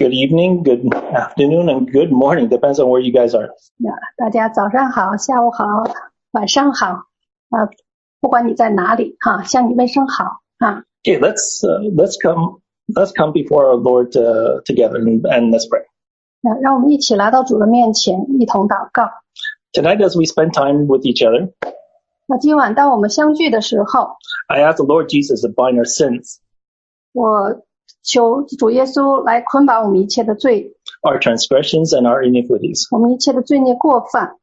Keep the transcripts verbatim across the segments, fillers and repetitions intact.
Good evening, good afternoon, and good morning. Depends on where you guys are. 大家早上好，下午好，晚上好，啊，不管你在哪里，哈，向你问声好，啊。 Okay, let's uh, let's come let's come before our Lord uh, together and, and let's pray. 那让我们一起来到主的面前，一同祷告。 Tonight, as we spend time with each other, 那今晚当我们相聚的时候， I ask the Lord Jesus to bind our sins, 我求主耶稣来捆绑我们一切的罪， our transgressions, and our iniquities, 我们一切的罪孽过犯，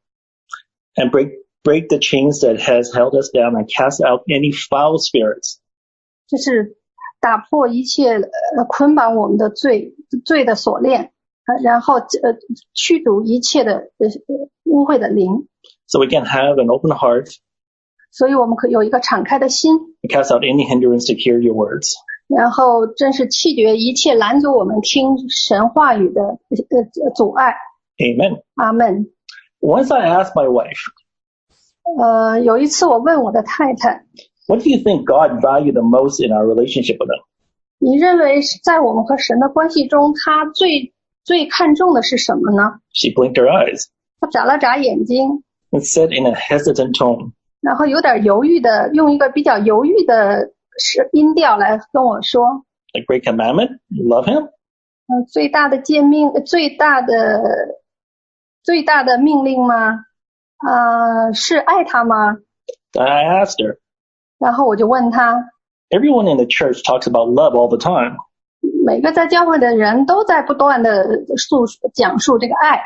and break break the chains that has held us down and cast out any foul spirits. 就是打破一切呃捆绑我们的罪罪的锁链，然后呃驱逐一切的呃污秽的灵， So we can have an open heart 所以我们可以有一个敞开的心， and cast out any hindrance to hear your words. 然后真是弃绝一切拦阻我们听神话语的呃阻碍。 Amen. 阿们。 Once I asked my wife, 呃，有一次我问我的太太， what do you think God valued the most in our relationship with him? 你认为在我们和神的关系中，他最最看重的是什么呢？ She blinked her eyes 他眨了眨眼睛， and said in a hesitant tone, 然后有点犹豫的，用一个比较犹豫的音调来跟我说， the great commandment, love him? 呃，最大的诫命，最大的最大的命令吗？呃，是爱他吗？ Then I asked her, 然后我就问他， everyone in the church talks about love all the time. 每个在教会的人都在不断的诉讲述这个爱，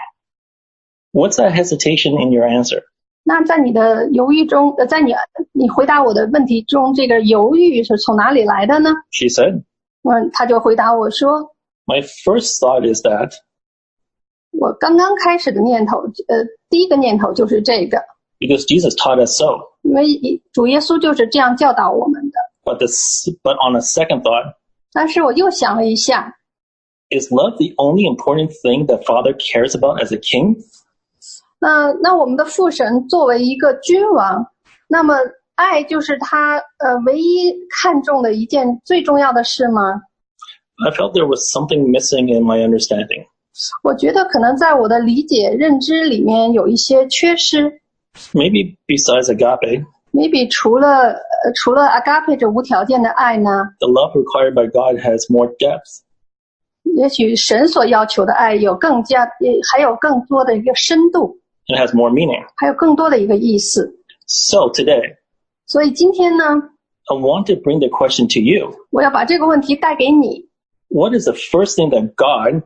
What's that hesitation in your answer? 那在你的犹豫中，呃，在你你回答我的问题中，这个犹豫是从哪里来的呢？ She said, 嗯，他就回答我说， my first thought is that 我刚刚开始的念头，呃，第一个念头就是这个， because Jesus taught us so. 因为主耶稣就是这样教导我们的。 But this, but on a second thought, 但是我又想了一下， is love the only important thing that Father cares about as a king? 那那我们的父神作为一个君王，那么爱就是他呃唯一看重的一件最重要的事吗？ I felt there was something missing in my understanding. 我觉得可能在我的理解认知里面有一些缺失。 Maybe besides agape, maybe 除了呃除了 agape 这无条件的爱呢， the love required by God has more depth. 也许神所要求的爱有更加还有更多的一个深度， It has more meaning. 还有更多的一个意思。 So today, 所以今天呢， I want to bring the question to you. 我要把这个问题带给你。 What is the first thing that God,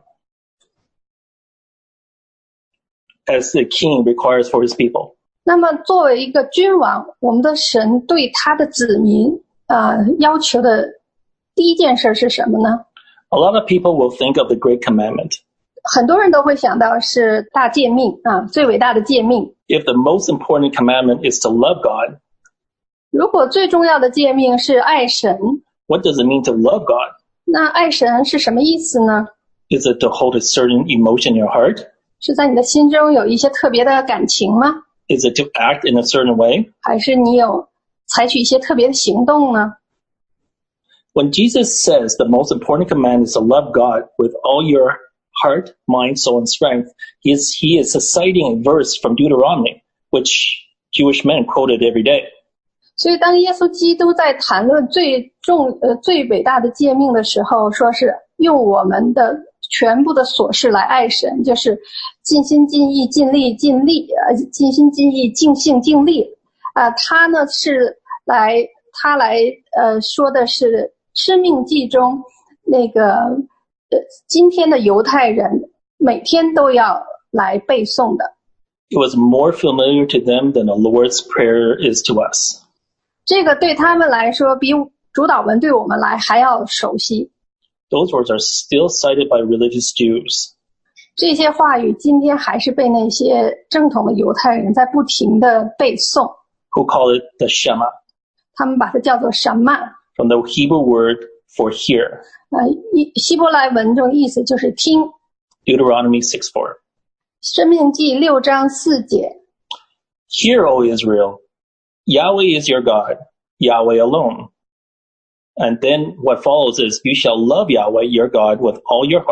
as the king, requires for his people? 那么作为一个君王，我们的神对他的子民呃要求的第一件事是什么呢？ A lot of people will think of the great commandment. 很多人都会想到是大诫命啊，最伟大的诫命。 If the most important commandment is to love God, 如果最重要的诫命是爱神， what does it mean to love God? 那爱神是什么意思呢？ Is it to hold a certain emotion in your heart? 是在你的心中有一些特别的感情吗？ Is it to act in a certain way? 还是你有采取一些特别的行动呢？ When Jesus says the most important command is to love God with all your heart, mind, soul, and strength, he is, he is citing a verse from Deuteronomy, which Jewish men quoted every day. 所以当耶稣基督在谈论最重呃最伟大的诫命的时候，说是用我们的全部的所事来爱神，就是尽心尽意尽力尽力呃尽心尽意尽性尽力啊、呃、他呢是来他来呃说的是申命记中那个呃今天的犹太人每天都要来背诵的。 It was more familiar to them than the Lord's Prayer is to us. 这个对他们来说比主祷文对我们来还要熟悉。 Those words are still cited by religious Jews. 这些话语今天还是被那些正统的犹太人在不停的背诵， who call it the Shema, 他们把它叫做什么 from the Hebrew word for hear. 呃，希伯来文中的意思就是听。 Deuteronomy six four. 申命记六章四节， Hear, O Israel, Yahweh is your God, Yahweh alone. And then what follows is, you shall love Yahweh, your God, with all your heart,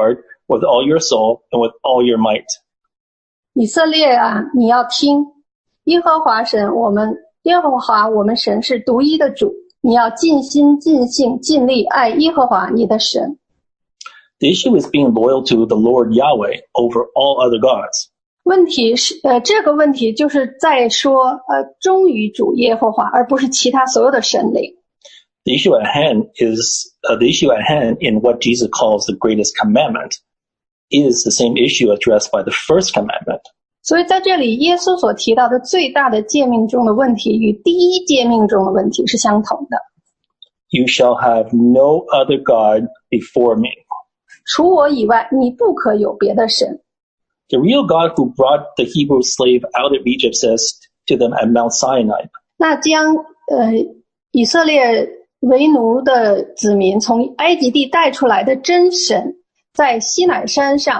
with all your soul and with all your might. 以色列啊，你要听，耶和华神，我们耶和华我们神是独一的主，你要尽心尽性尽力爱耶和华你的神。 The issue is being loyal to the Lord Yahweh over all other gods. 问题是，呃，这个问题就是在说，呃，忠于主耶和华，而不是其他所有的神灵。 The issue at hand is uh, the issue at hand in what Jesus calls the greatest commandment is the same issue addressed by the first commandment. 所以在这里，耶稣所提到的最大的诫命中的问题，与第一诫命中的问题是相同的。 You shall have no other God before me. 除我以外，你不可有别的神。 The real God who brought the Hebrew slave out of Egypt says to them at Mount Sinai. 那将呃以色列为奴的子民从埃及地带出来的真神，在西乃山上。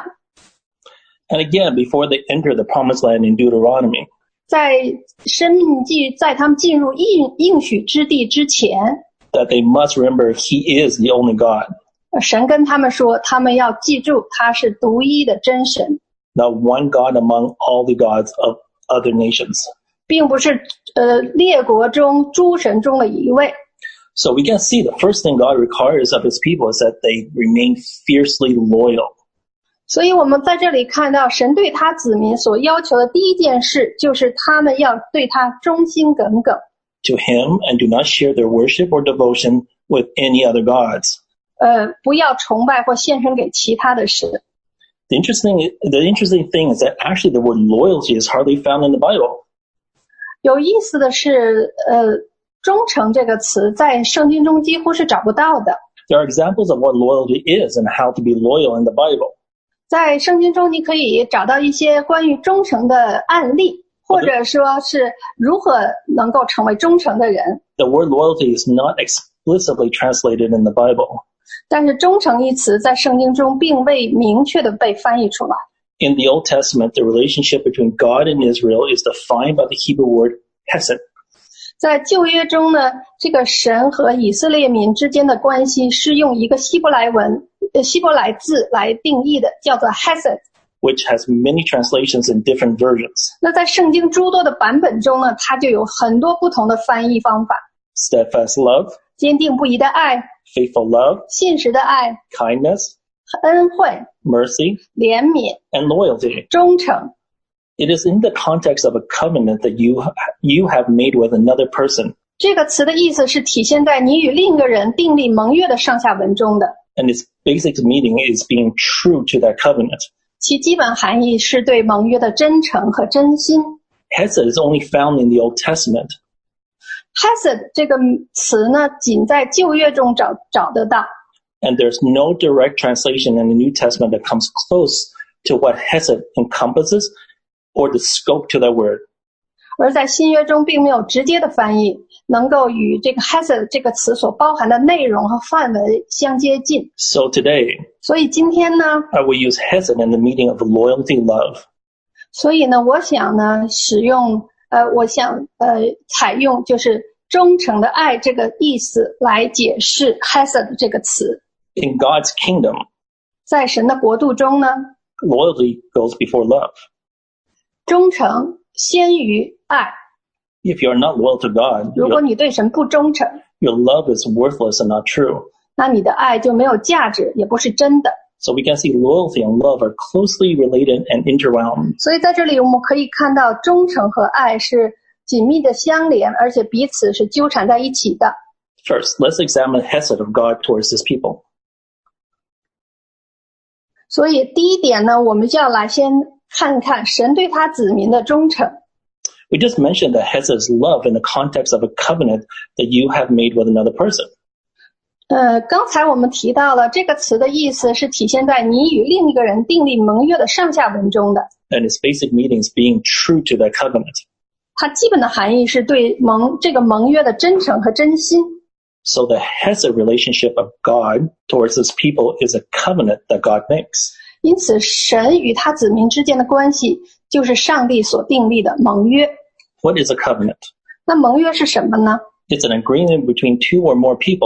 And again, before they enter the promised land in Deuteronomy. 在申命记，在他们进入应应许之地之前， that they must remember He is the only God. 神跟他们说，他们要记住他是独一的真神。 Not one God among all the gods of other nations. 并不是呃列国中诸神中的一位。 So we can see the first thing God requires of His people is that they remain fiercely loyal. 所以我们在这里看到，神对他子民所要求的第一件事，就是他们要对他忠心耿耿。 To Him and do not share their worship or devotion with any other gods. 呃，不要崇拜或献身给其他的神。 The interesting, the interesting thing is that actually the word loyalty is hardly found in the Bible. 有意思的是，呃，忠诚这个词在圣经中几乎是找不到的。 There are examples of what loyalty is and how to be loyal in the Bible. 在圣经中，你可以找到一些关于忠诚的案例，或者说是如何能够成为忠诚的人。 The word loyalty is not explicitly translated in the Bible. 但是忠诚一词在圣经中并未明确的被翻译出来。 In the Old Testament, the relationship between God and Israel is defined by the Hebrew word hesed. 在旧约中呢，这个神和以色列民之间的关系是用一个希伯来文、呃希伯来字来定义的，叫做 hesed, which has many translations in different versions. 那在圣经诸多的版本中呢，它就有很多不同的翻译方法。 Steadfast love, 坚定不移的爱， faithful love, 信实的爱， kindness, 恩惠， mercy, 怜悯， and loyalty. 忠诚。 It is in the context of a covenant that you you have made with another person. 这个词的意思是体现在你与另一个人订立盟约的上下文中的。 And its basic meaning is being true to that covenant. 其基本含义是对盟约的真诚和真心。 Hesed is only found in the Old Testament. Hesed 这个词呢，仅在旧约中找找得到。 And there's no direct translation in the New Testament that comes close to what Hesed encompasses or the scope to that word. 而在新约中并没有直接的翻译，能够与这个 Hesed 这个词所包含的内容和范围相接近。 So today, 所以今天呢， I will use Hesed in the meaning of loyalty love. 所以呢，我想呢，使用呃，我想呃，采用就是忠诚的爱这个意思来解释 Hesed 这个词。 In God's kingdom, 在神的国度中呢， loyalty goes before love. 忠诚先于爱。 If you are not loyal to God, 如果 your, 你对神不忠诚， your love is worthless and not true. 那你的爱就没有价值，也不是真的。 So we can see loyalty and love are closely related and interwound. 所以在这里我们可以看到，忠诚和爱是紧密的相连，而且彼此是纠缠在一起的。 First, let's examine the hesed of God towards His people. 所以第一点呢，我们就要来先看看神对他子民的忠诚。 We just mentioned that hesed is love in the context of a covenant that you have made with another person. 呃，刚才我们提到了这个词的意思是体现在你与另一个人订立盟约的上下文中的。 And its basic meaning is being true to that covenant. 它基本的含义是对盟这个盟约的真诚和真心。 So the hesed relationship of God towards His people is a covenant that God makes. 因此，神与他子民之间的关系就是上帝所订立的盟约。 What is a covenant? 那盟约是什么呢？ It's an agreement between two or more people.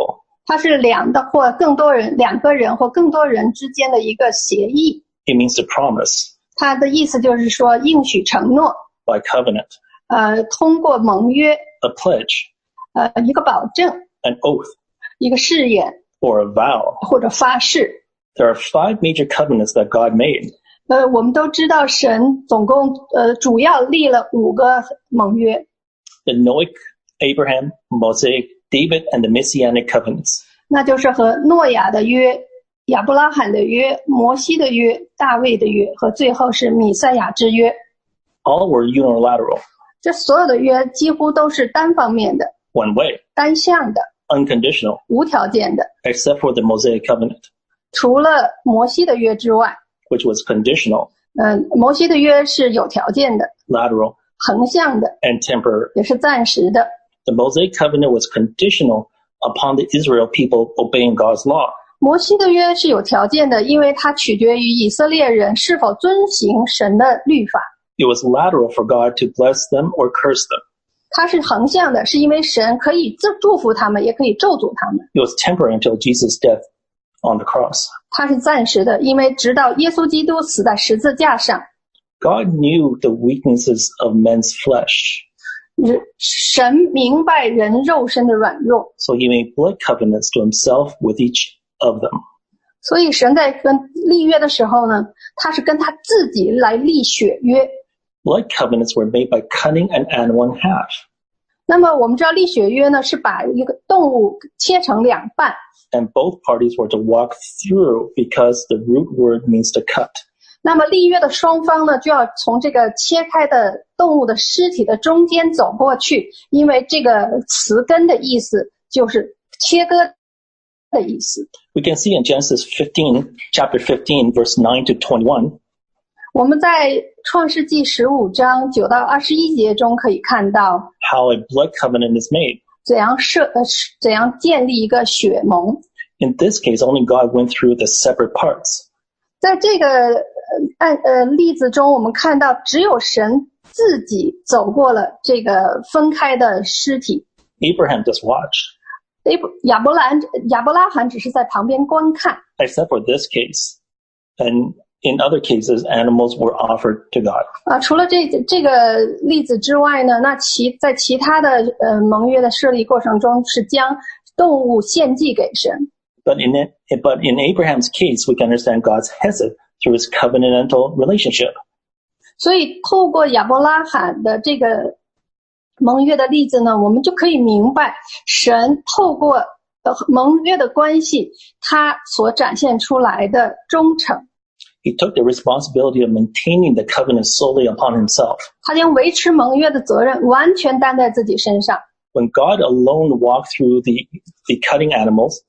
它是两的或更多人，两个人或更多人之间的一个协议。 It means to promise. 它的意思就是说应许承诺。 By covenant. 呃，通过盟约。 A pledge. 呃，一个保证。 An oath. 一个誓言。 Or a vow. 或者发誓。 There are five major covenants that God made. 呃，我们都知道神总共呃主要立了五个盟约。 The Noahic, Abraham, Mosaic, David, and the Messianic covenants. 那就是和诺亚的约、亚伯拉罕的约、摩西的约、大卫的约和最后是弥赛亚之约。 All were unilateral. 这所有的约几乎都是单方面的。 One way. 单向的。 Unconditional. 无条件的。 Except for the Mosaic covenant. 除了摩西的约之外。 Which was conditional. 嗯，摩西的约是有条件的。 Lateral. 横向的。 And temporary. 也是暂时的。 The Mosaic covenant was conditional upon the Israel people obeying God's law. 摩西的约是有条件的，因为它取决于以色列人是否遵行神的律法。 It was lateral for God to bless them or curse them. 它是横向的，是因为神可以祝福他们，也可以咒诅他们。 It was temporary until Jesus' death on the cross. 它是暂时的，因为直到耶稣基督死在十字架上。 God knew the weaknesses of men's flesh. 神明白人肉身的软弱。 So he made blood covenants to himself with each of them. 所以神在跟立约的时候呢，他是跟他自己来立血约。 Blood covenants were made by cutting an animal in half. 那么我们知道立血约呢，是把一个动物切成两半。 And both parties were to walk through because the root word means to cut. 那么立约的双方呢，就要从这个切开的动物的尸体的中间走过去，因为这个词根的意思就是切割的意思。 We can see in Genesis fifteen, chapter fifteen, verse nine to twenty-one. 我们在创世纪十五章九到二十一节中可以看到 how a blood covenant is made. 怎样设呃怎样建立一个血盟。 In this case, only God went through the separate parts. 在这个按呃例子中，我们看到只有神自己走过了这个分开的尸体。 Abraham just watched. 亚伯兰亚伯拉罕只是在旁边观看。 Except for this case, and in other cases, animals were offered to God. 啊，除了这这个例子之外呢，那其在其他的呃盟约的设立过程中，是将动物献祭给神。 But in it, but in Abraham's case, we can understand God's hesed through his covenantal relationship. 所以透过亚伯拉罕的这个盟约的例子呢，我们就可以明白神透过呃盟约的关系，他所展现出来的忠诚。 He took the responsibility of maintaining the covenant solely upon himself. 他将维持盟约的责任完全担在自己身上。 When God alone walked through the, the cutting animals,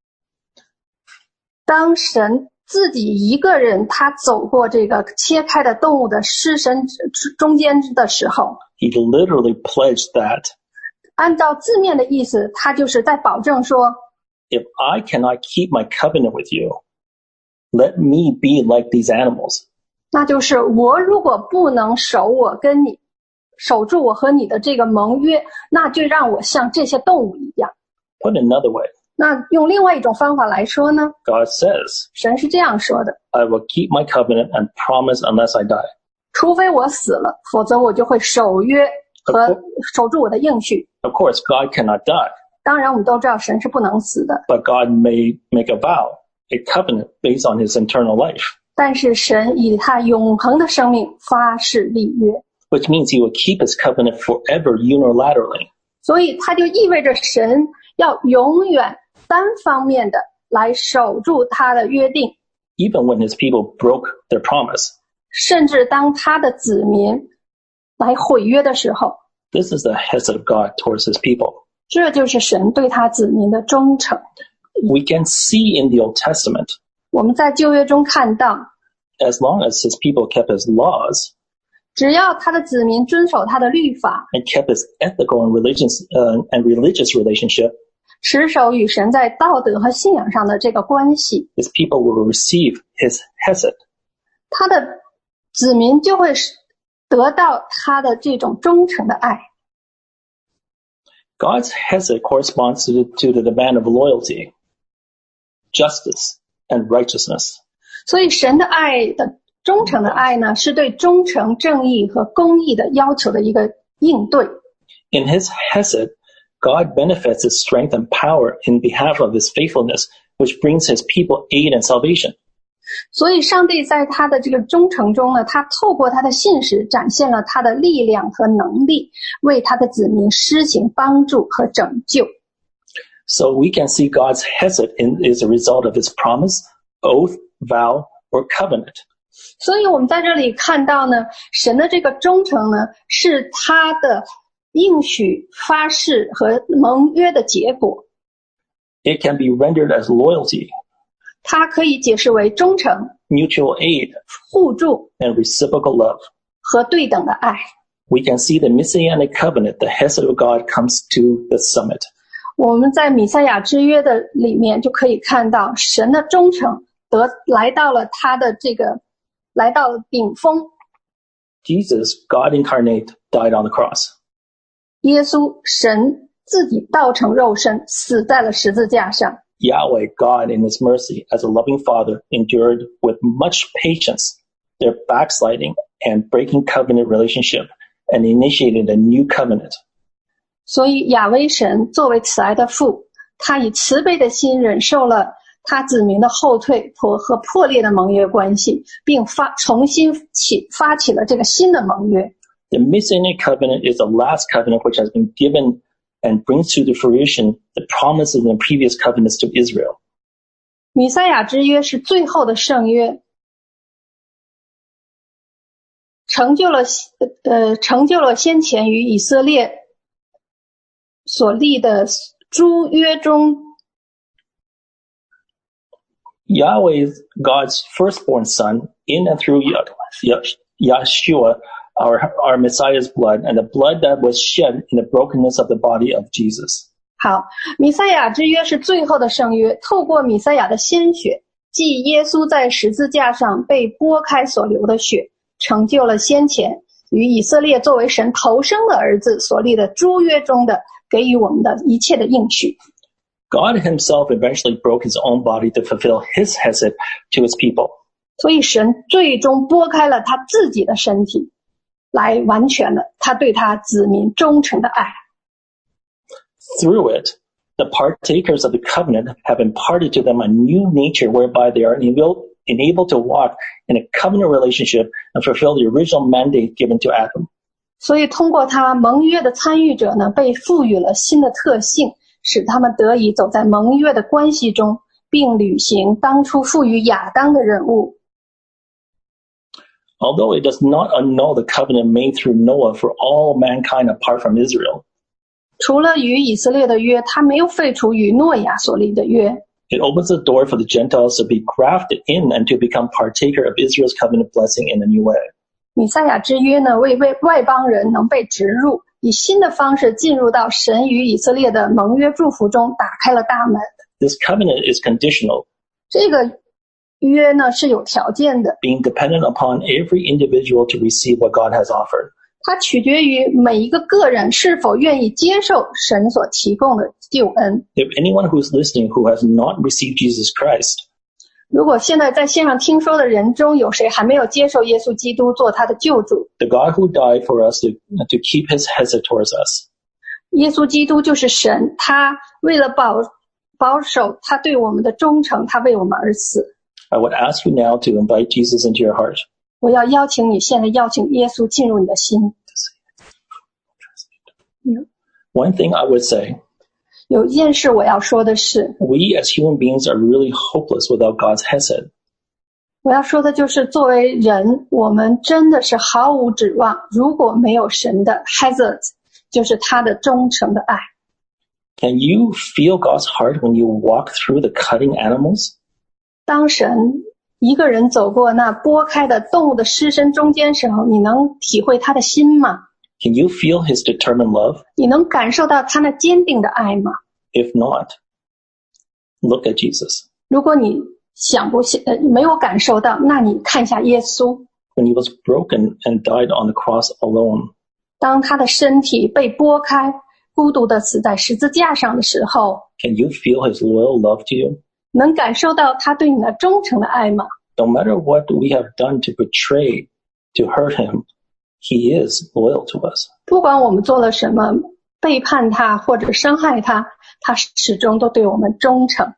当神自己一个人他走过这个切开的动物的尸身中间的时候， he literally pledged that 按照字面的意思，他就是在保证说 if I cannot keep my covenant with you, let me be like these animals. 那就是我如果不能守我跟你守住我和你的这个盟约，那就让我像这些动物一样。 Put another way, 那用另外一种方法来说呢， God says, 神是这样说的， I will keep my covenant and promise unless I die. 除非我死了，否则我就会守约和守住我的应许。 Of course, God cannot die, 当然我们都知道神是不能死的， but God may make a vow, a covenant based on his eternal life, 但是神以他永恒的生命发誓立约， which means he will keep his covenant forever unilaterally. 所以它就意味着神要永远单方面的来守住他的约定， Even when his people broke their promise. 甚至当他的子民来毁约的时候， This is the hesed of God towards his people. 这就是神对他子民的忠诚。 We can see in the Old Testament, 我们在旧约中看到， as long as his people kept his laws 只要他的子民遵守他的律法， and kept his ethical and religious uh, and religious relationship, 持守与神在道德和信仰上的这个关系， his people will receive his hesed. 他的子民就会得到他的这种忠诚的爱。 God's hesed corresponds to the, to the demand of loyalty, justice, and righteousness. 所以神的爱的忠诚的爱呢，是对忠诚、正义和公义的要求的一个应对。 In his hesed, God benefits his strength and power in behalf of his faithfulness, which brings his people aid and salvation. 所以上帝在他的这个忠诚中呢，他透过他的信实展现了他的力量和能力，为他的子民施行帮助和拯救。 So we can see God's hesed in, is a result of his promise, oath, vow, or covenant. 所以我们在这里看到呢，神的这个忠诚呢，是他的应许、发誓和盟约的结果。 It can be rendered as loyalty, 它可以解释为忠诚、 mutual aid, 互助 and reciprocal love. 和对等的爱。 We can see the Messianic covenant, the hesed of God, comes to the summit. 我们在弥赛亚之约的里面就可以看到神的忠诚得来到了他的这个来到了顶峰。 Jesus, God incarnate, died on the cross. 耶稣神自己道成肉身，死在了十字架上。 Yahweh, God in his mercy, as a loving father, endured with much patience their backsliding and breaking covenant relationship and initiated a new covenant. 所以亚威神作为慈爱的父，他以慈悲的心忍受了他子民的后退和和破裂的盟约关系，并发重新起发起了这个新的盟约。 The Messianic covenant is the last covenant which has been given and brings to the fruition the promises in the previous covenants to Israel. 弥赛亚之约是最后的圣约，成就了呃成就了先前与以色列所立的诸约中 Yahweh, God's firstborn son, in and through Yeshua, our, our Messiah's blood, and the blood that was shed in the brokenness of the body of Jesus. 好，弥赛亚之约是最后的圣约，透过弥赛亚的鲜血，即耶稣在十字架上被剥开所流的血，成就了先前与以色列作为神头生的儿子所立的诸约中的给予我们的一切的应许。 God himself eventually broke his own body to fulfill his hesed to his people. 所以神最终剥开了他自己的身体，来完全了他对他子民忠诚的爱。 Through it, the partakers of the covenant have imparted to them a new nature whereby they are enabled, enabled to walk in a covenant relationship and fulfill the original mandate given to Adam. 所以通过他盟约的参与者呢，被赋予了新的特性，使他们得以走在盟约的关系中，并履行当初赋予亚当的任务。 Although it does not annul the covenant made through Noah for all mankind apart from Israel, 除了与以色列的约，他没有废除与诺亚所立的约。 it opens the door for the Gentiles to be grafted in and to become partaker of Israel's covenant blessing in a new way. 弥赛亚之约呢，为为外邦人能被植入，以新的方式进入到神与以色列的盟约祝福中，打开了大门。 This covenant is conditional, 这个约呢是有条件的， being dependent upon every individual to receive what God has offered. 它取决于每一个个人是否愿意接受神所提供的救恩。 If anyone who's listening who has not received Jesus Christ, 如果现在在线上听说的人中有谁还没有接受耶稣基督做他的救主， the God who died for us to, to keep his hesed towards us, 耶稣基督就是神，他为了保保守他对我们的忠诚，他为我们而死。 I would ask you now to invite Jesus into your heart. 我要邀请你现在邀请耶稣进入你的心。 One thing I would say, 有一件事我要说的是， we as human beings are really hopeless without God's hesed. 我要说的就是作为人，我们真的是毫无指望，如果没有神的 hesed， 就是他的忠诚的爱。 Can you feel God's heart when you walk through the cutting animals? 当神一个人走过那剥开的动物的尸身中间时候，你能体会他的心吗？ Can you feel his determined love? 你能感受到他那坚定的爱吗？ If not, look at Jesus. 如果你想不呃没有感受到，那你看一下耶稣， When he was broken and died on the cross alone, 当他的身体被剥开， 孤独的死在十字架上的时候， can you feel his loyal love to you? 能感受到他对你那忠诚的爱吗？ No matter what we have done to betray, to hurt him, he is loyal to us. 不管我们做了什么，背叛他或者伤害他，他始终都对我们忠诚。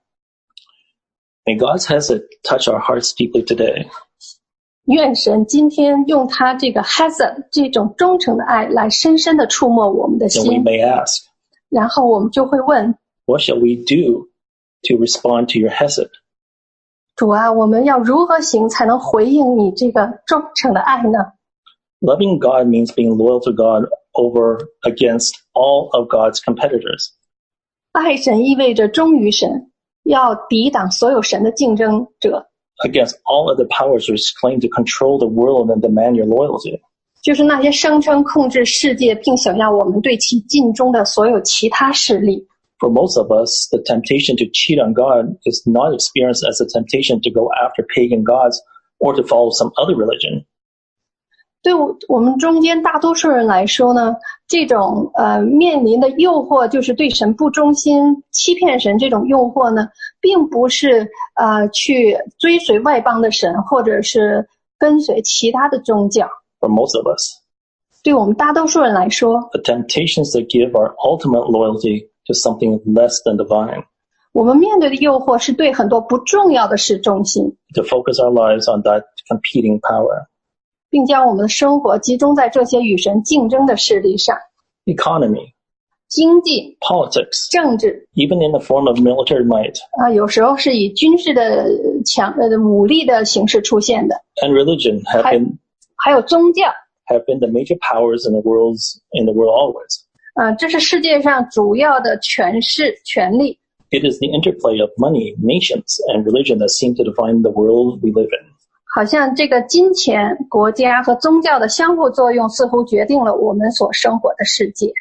May God's hesed touch our hearts deeply today. 愿神今天用他这个 hesed 这种忠诚的爱来深深地触摸我们的 And we 心， may ask, 然后我们就会问 what shall we do to respond to your hesed? 主啊，我们要如何行才能回应你这个忠诚的爱呢？ Loving God means being loyal to God over against all of God's competitors. 爱神意味着忠于神，要抵挡所有神的竞争者， against all other powers which claim to control the world and demand your loyalty. 就是那些声称控制世界并想要我们对其尽忠的所有其他势力。 For most of us, the temptation to cheat on God is not experienced as a temptation to go after pagan gods or to follow some other religion. 对我们中间大多数人来说呢，这种呃面临的诱惑，就是对神不忠心、欺骗神这种诱惑呢，并不是呃去追随外邦的神，或者是跟随其他的宗教。 For most of us, 对我们大多数人来说， the temptation is to give our ultimate loyalty to something less than divine, 我们面对的诱惑是对很多不重要的事忠心， to focus our lives on that competing power. 并将我们的生活集中在这些与神竞争的势力上。 Economy, 经济、 politics, 政治 even in the form of military might, 啊、有时候是以军事的强呃武力的形式出现的， and religion have Hi. been 还有宗教。 have been the major powers in the world's in the world always. 啊，这是世界上主要的权势、权力。 It is the interplay of money, nations, and religion that seem to define the world we live in. 好像这个金钱、国家和宗教的相互作用，似乎决定了我们所生活的世界。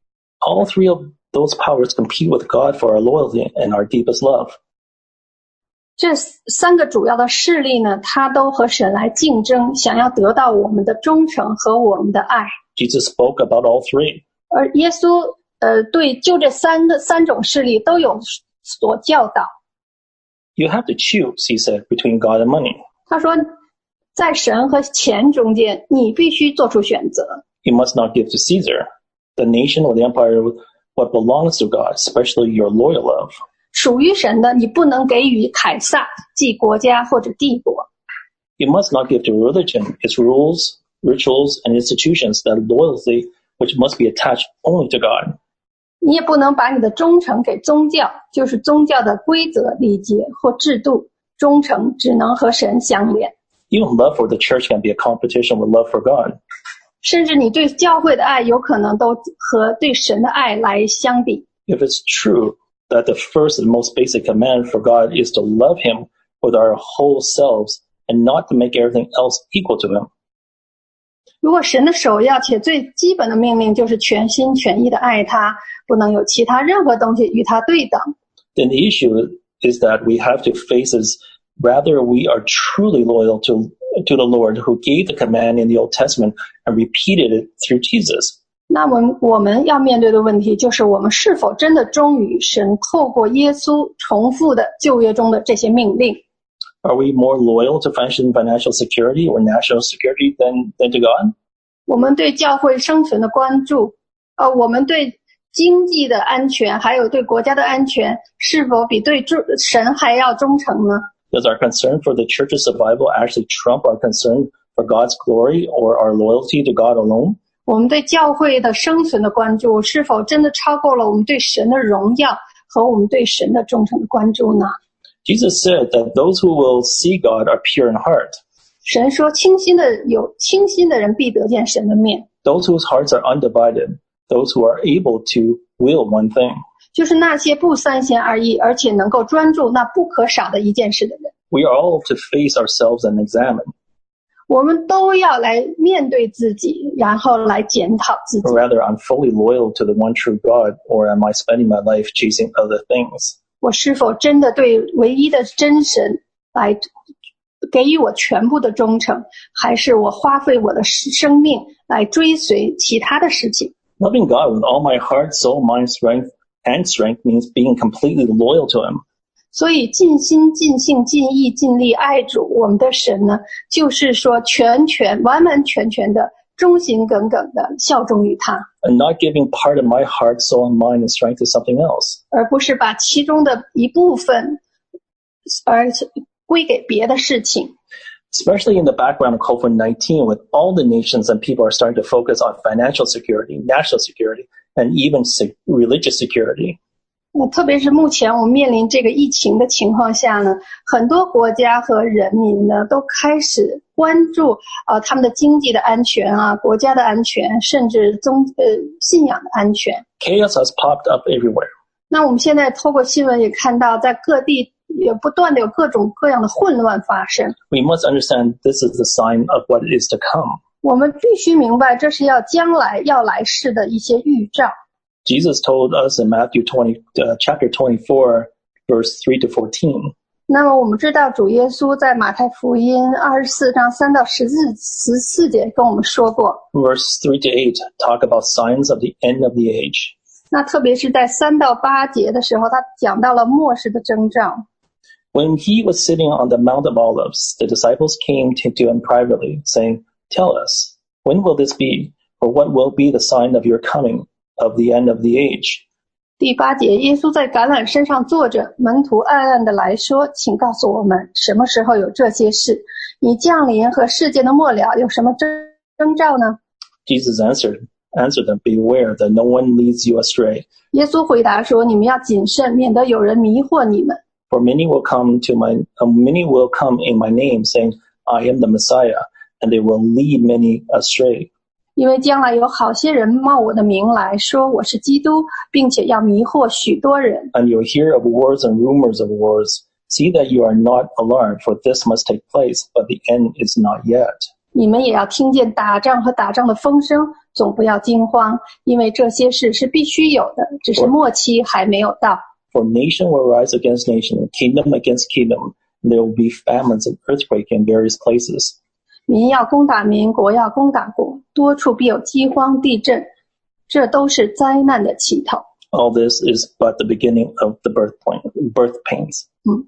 All three of those powers compete with God for our loyalty and our deepest love. 这三个主要的势力呢，它都和神来竞争，想要得到我们的忠诚和我们的爱。 Jesus spoke about all three. 而耶稣呃，对就这三个三种势力都有所教导。 You have to choose, he said, between God and money. 他说，在神和钱中间，你必须做出选择。 You must not give to Caesar, the nation or the empire, what belongs to God, especially your loyal love. 属于神的，你不能给予凯撒，即国家或者帝国。 You must not give to religion, its rules, rituals, and institutions that loyalty which must be attached only to God. 你也不能把你的忠诚给宗教，就是宗教的规则、礼节或制度。忠诚只能和神相连。 Even love for the church can be a competition with love for God. 甚至你对教会的爱有可能都和对神的爱来相比。 If it's true that the first and most basic command for God is to love him with our whole selves and not to make everything else equal to him. 如果神的首要且最基本的命令就是全心全意的爱他，不能有其他任何东西与他对等， Then the issue is that we have to face is rather we are truly loyal to, to the Lord who gave the command in the Old Testament and repeated it through Jesus. 那么我们要面对的问题就是我们是否真的忠于神透过耶稣重复的旧约中的这些命令。 Are we more loyal to financial security or national security than, than to God? 我们对教会生存的关注，呃，我们对经济的安全还有对国家的安全是否比对神还要忠诚呢？ Does our concern for the church's survival actually trump our concern for God's glory or our loyalty to God alone? 我们对教会的生存的关注是否真的超过了我们对神的荣耀和我们对神的忠诚的关注呢？ Jesus said that those who will see God are pure in heart. 神说清心的有清心的人必得见神的面， Those whose hearts are undivided, those who are able to will one thing. 就是那些不三心二意而且能够专注那不可少的一件事的人。 We are all to face ourselves and examine. 我们都要来面对自己，然后来检讨自己。 Or rather, I'm fully loyal to the one true God, or am I spending my life chasing other things? 我是否真的对唯一的真神来给予我全部的忠诚，还是我花费我的生命来追随其他的事情？ Loving God with all my heart, soul, mind, strength, and strength means being completely loyal to him. 所以尽心尽性尽意尽力爱主我们的神呢，就是说全全完完全全的忠心耿耿的效忠于他， And not giving part of my heart, soul, and mind and strength to something else. 而不是把其中的一部分而归给别的事情。 Especially in the background of COVID nineteen, with all the nations and people are starting to focus on financial security, national security, and even religious security. 呃，特别是目前我们面临这个疫情的情况下呢，很多国家和人民呢都开始关注呃他们的经济的安全啊，国家的安全，甚至宗呃信仰的安全。 Chaos has popped up everywhere. 那我们现在透过新闻也看到，在各地也不断的有各种各样的混乱发生。 We must understand this is the sign of what is to come. 我们必须明白，这是要将来要来世的一些预兆。 Jesus told us in Matthew twenty, uh, chapter twenty-four, verse three to fourteen. 那么我们知道主耶稣在马太福音二十四章三到十四十四节跟我们说过。 Verse three to eight talk about signs of the end of the age. 那特别是在三到八节的时候，他讲到了末世的征兆。 When he was sitting on the Mount of Olives, the disciples came to, to him privately, saying, Tell us, when will this be? Or what will be the sign of your coming, of the end of the age? 第八节，耶稣在橄榄山上坐着，门徒暗暗的来说，请告诉我们，什么时候有这些事？你降临和世界的末了有什么征征兆呢？ Jesus answered, answered them, Beware that no one leads you astray. 耶稣回答说，你们要谨慎，免得有人迷惑你们。 For many will come to my, uh, many will come in my name, saying, I am the Messiah, and they will lead many astray. 因为将来有好些人冒我的名来说我是基督，并且要迷惑许多人。 And you'll hear of wars and rumors of wars. See that you are not alarmed, for this must take place, but the end is not yet. 你们也要听见打仗和打仗的风声，总不要惊慌，因为这些事是必须有的，只是末期还没有到。 For nation will rise against nation, kingdom against kingdom. There will be famines and earthquake in various places. 民要攻打民，国要攻打国，多处必有饥荒、地震，这都是灾难的起头。 All this is but the beginning of the birth, point, birth pains. 嗯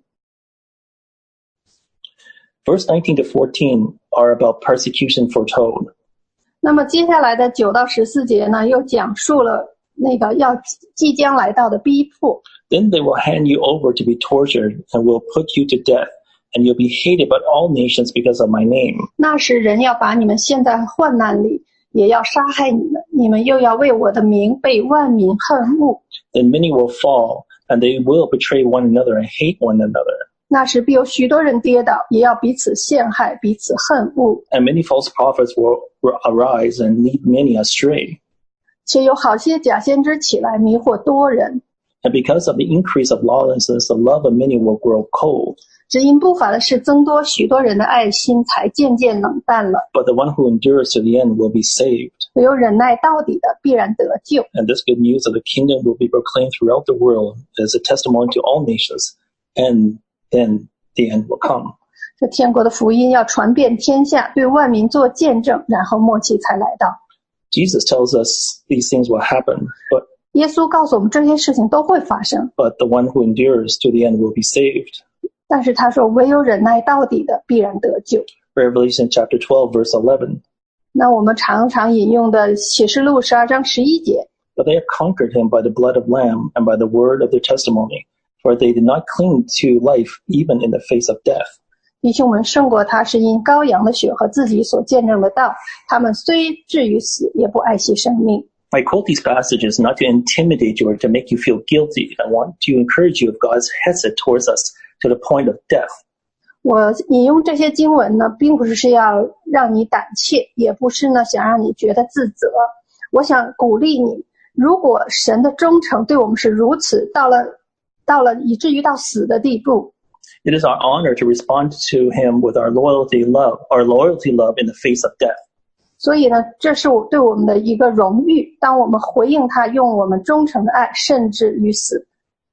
Verse nineteen to fourteen are about persecution foretold. 那么接下来的九到十四节呢，又讲述了那个要即将来到的逼迫。 Then they will hand you over to be tortured and will put you to death, and you'll be hated by all nations because of my name. 那时人要把你们陷在患难里，也要杀害你们，你们又要为我的名被万民恨恶。 Then many will fall, and they will betray one another and hate one another. 那时必有许多人跌倒，也要彼此陷害，彼此恨恶。 And many false prophets will, will arise and lead many astray. 且有好些假先知起来迷惑多人。 And because of the increase of lawlessness, the love of many will grow cold. 只因不法的事增多，许多人的爱心才渐渐冷淡了。 But the one who endures to the end will be saved. 唯有忍耐到底的，必然得救。 And this good news of the kingdom will be proclaimed throughout the world as a testimony to all nations. And then the end will come. 这天国的福音要传遍天下，对万民做见证，然后末期才来到。 Jesus tells us these things will happen, but, 耶稣告诉我们这些事情都会发生， but the one who endures to the end will be saved. 但是他说唯有忍耐到底的，必然得救。 Revelation chapter twelve, verse eleven. 那我们常常引用的启示录十二章十一节， But they have conquered him by the blood of Lamb and by the word of their testimony, for they did not cling to life even in the face of death. 弟兄们胜过他，是因羔羊的血和自己所见证的道。他们虽至于死，也不爱惜生命。 I quote these passages not to intimidate you or to make you feel guilty. I want to encourage you of God's hesed towards us to the point of death. 我引用这些经文呢，并不是是要让你胆怯，也不是呢想让你觉得自责。我想鼓励你，如果神的忠诚对我们是如此，到了到了以至于到死的地步， It is our honor to respond to him with our loyalty love, our loyalty love in the face of death. 所以呢，这是我对我们的一个荣誉。当我们回应他，用我们忠诚的爱，甚至于死。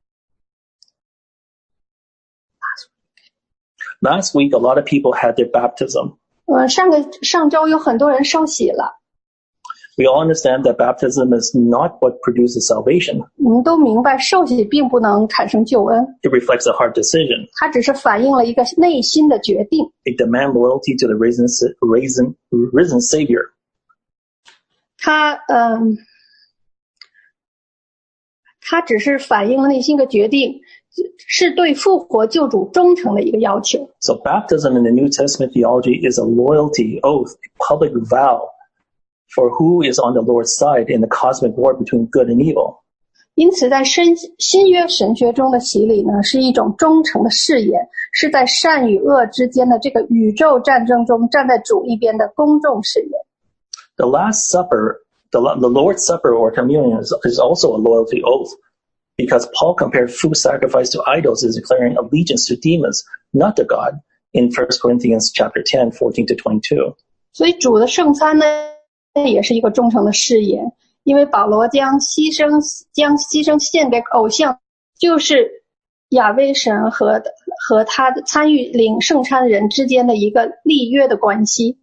Last week, a lot of people had their baptism. 呃，上个上周有很多人受洗了。 We all understand that baptism is not what produces salvation. 我们都明白受洗并不能产生救恩， It reflects a heart decision. 它只是反映了一个内心的决定。 It demands loyalty to the risen, risen, risen Savior. 它嗯，它只是反映了内心的决定，是对复活救主忠诚的一个要求。 So baptism in the New Testament theology is a loyalty oath, a public vow for who is on the Lord's side in the cosmic war between good and evil. 因此在新新约神学中的洗礼呢，是一种忠诚的誓言，是在善与恶之间的这个宇宙战争中站在主一边的公众誓言。 The Last Supper, the, the Lord's Supper or communion is, is also a loyalty oath, because Paul compared food sacrificed to idols as declaring allegiance to demons, not to God, in First Corinthians chapter ten, fourteen to twenty-two. 所以主的圣餐呢，也是一个忠诚的誓言，因为保罗将牺牲将牺牲献给偶像，就是亚威神和和他的参与领圣餐人之间的一个立约的关系。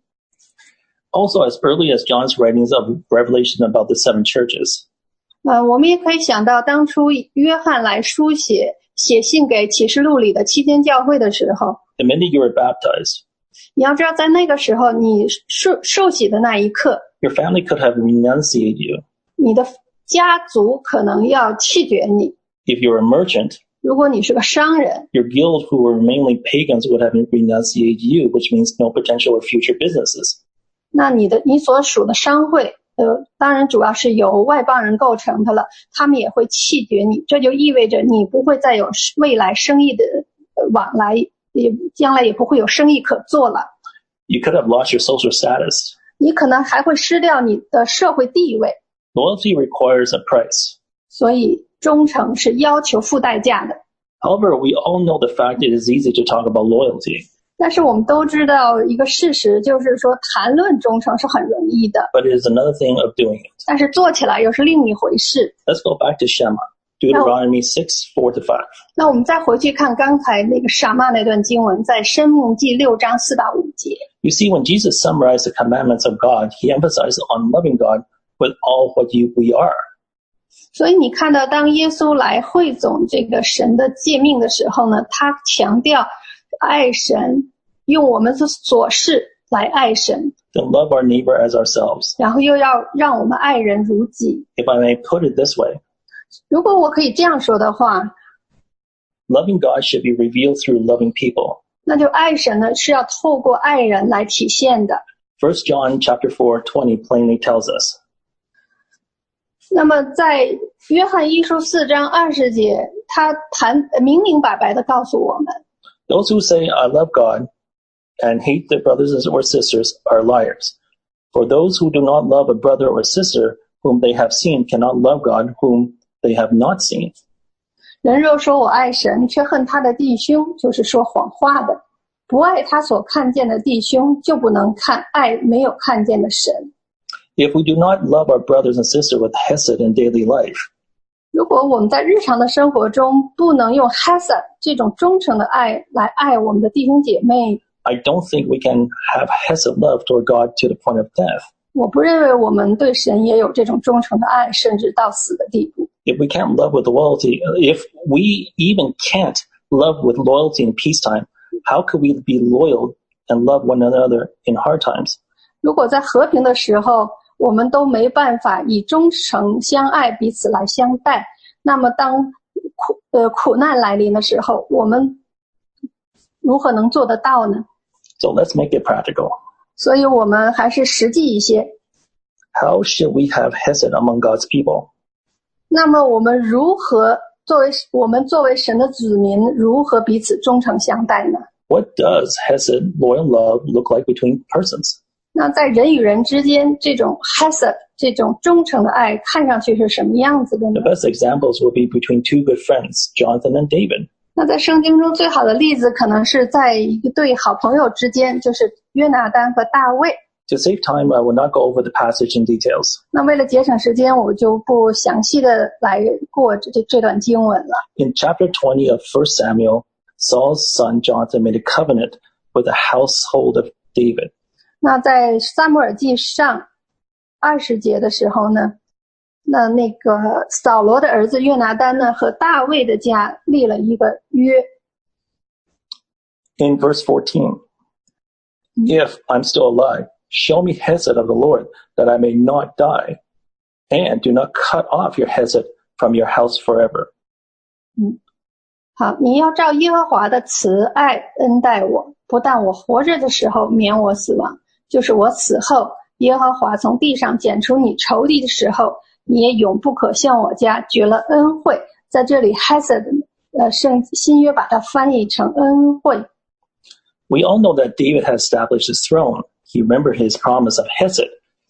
Also, as early as John's writings of Revelation about the seven churches, 呃，我们也可以想到，当初约翰来书写写信给启示录里的七间教会的时候， the minute you were baptized, 你要知道，在那个时候，你受受洗的那一刻， your family could have renunciated you. 你的家族可能要弃绝你。 If you were a merchant, 如果你是个商人， your guild, who were mainly pagans, would have renunciated you, which means no potential or future businesses. 那你的你所属的商会，呃，当然主要是由外邦人构成的了，他们也会弃绝你，这就意味着你不会再有未来生意的往来，也将来也不会有生意可做了。 You could have lost your social status. 你可能还会失掉你的社会地位。 Loyalty requires a price. 所以忠诚是要求付代价的。 However, we all know the fact it is easy to talk about loyalty. 但是我们都知道一个事实，就是说谈论忠诚是很容易的， But it is another thing of doing it. 但是做起来又是另一回事。 Let's go back to Shema, Deuteronomy six, four to five. 那我们再回去看刚才那个撒玛那段经文，在申命记六章四到五节。 You see, when Jesus summarized the commandments of God, he emphasized on loving God with all what you, we are. 所以你看到，当耶稣来汇总这个神的诫命的时候呢，他强调爱神，用我们的所事来爱神， To love our neighbor as ourselves. 然后又要让我们爱人如己。 If I may put it this way, 如果我可以这样说的话， loving God should be revealed through loving people. 那就爱神呢是要透过爱人来体现的。 First John chapter four, twenty plainly tells us, 那么在约翰一书四章二十节，他谈明明白白的告诉我们， those who say, I love God, and hate their brothers or sisters are liars. For those who do not love a brother or sister whom they have seen cannot love God whom they have not seen. 人若说我爱神，却恨他的弟兄，就是说谎话的。不爱他所看见的弟兄，就不能看爱没有看见的神。 If we do not love our brothers and sisters with hesed in daily life, 如果我们在日常的生活中不能用 hesed 这种忠诚的爱来爱我们的弟兄姐妹， I don't think we can have hesed love toward God to the point of death. 我不认为我们对神也有这种忠诚的爱，甚至到死的地步。 If we can't love with loyalty, if we even can't love with loyalty in peacetime, how could we be loyal and love one another in hard times? 如果在和平的时候，我们都没办法以忠诚相爱彼此来相待，那么当苦呃苦难来临的时候，我们如何能做得到呢？ So let's make it practical. 所以我们还是实际一些。 How should we have hesed among God's people? 那么我们如何作为我们作为神的子民，如何彼此忠诚相待呢？ What does hesed, loyal love, look like between persons? 那在人与人之间，这种 hesed 这种忠诚的爱看上去是什么样子的呢？ The best examples will be between two good friends, Jonathan and David. 那在圣经中最好的例子可能是在一对好朋友之间，就是约拿单和大卫。 To save time, I will not go over the passage in details. 那为了节省时间，我就不详细的来过这这段经文了。 In chapter twenty of First Samuel, Saul's son Jonathan made a covenant with the household of David. 那在撒母耳记上二十节的时候呢，那那个扫罗的儿子约拿单呢和大卫的家立了一个约。 In verse fourteen, if I'm still alive, show me hesed of the Lord, that I may not die, and do not cut off your hesed from your house forever. 嗯，好，你要照耶和华的慈爱恩待我，不但我活着的时候免我死亡，就是我死后，耶和华从地上剪除你仇敌的时候，你也永不可向我家绝了恩惠。在这里 hesed 呃圣新约把它翻译成恩惠。 We all know that David has established his throne. He remembered his promise of hesed.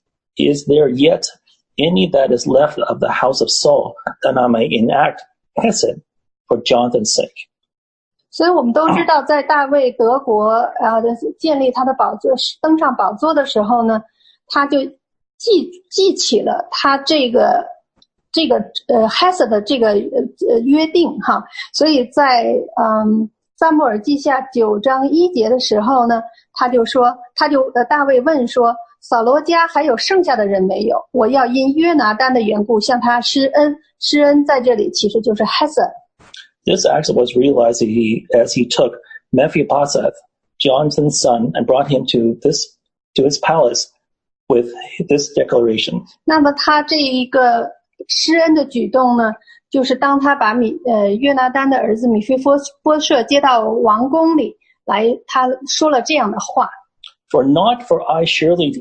Is there yet any that is left of the house of Saul, that I may enact hesed for Jonathan's sake? 所以我们都知道，在大卫得国呃建立他的宝座，登上宝座的时候呢，他就记记起了他这个这个呃 hesed 的这个呃约定哈，所以在嗯撒母耳记下九章一节的时候呢，他就说，他就呃大卫问说，扫罗家还有剩下的人没有？我要因约拿单的缘故向他施恩。施恩在这里其实就是 hesed。This act was realized he, as he took Mephibosheth, Jonathan's son, and brought him to this to his palace with this declaration. 那么他这一个施恩的举动呢，就是当他把米呃约拿单的儿子米非波设接到王宫里来，他说了这样的话 ：For not for I surely,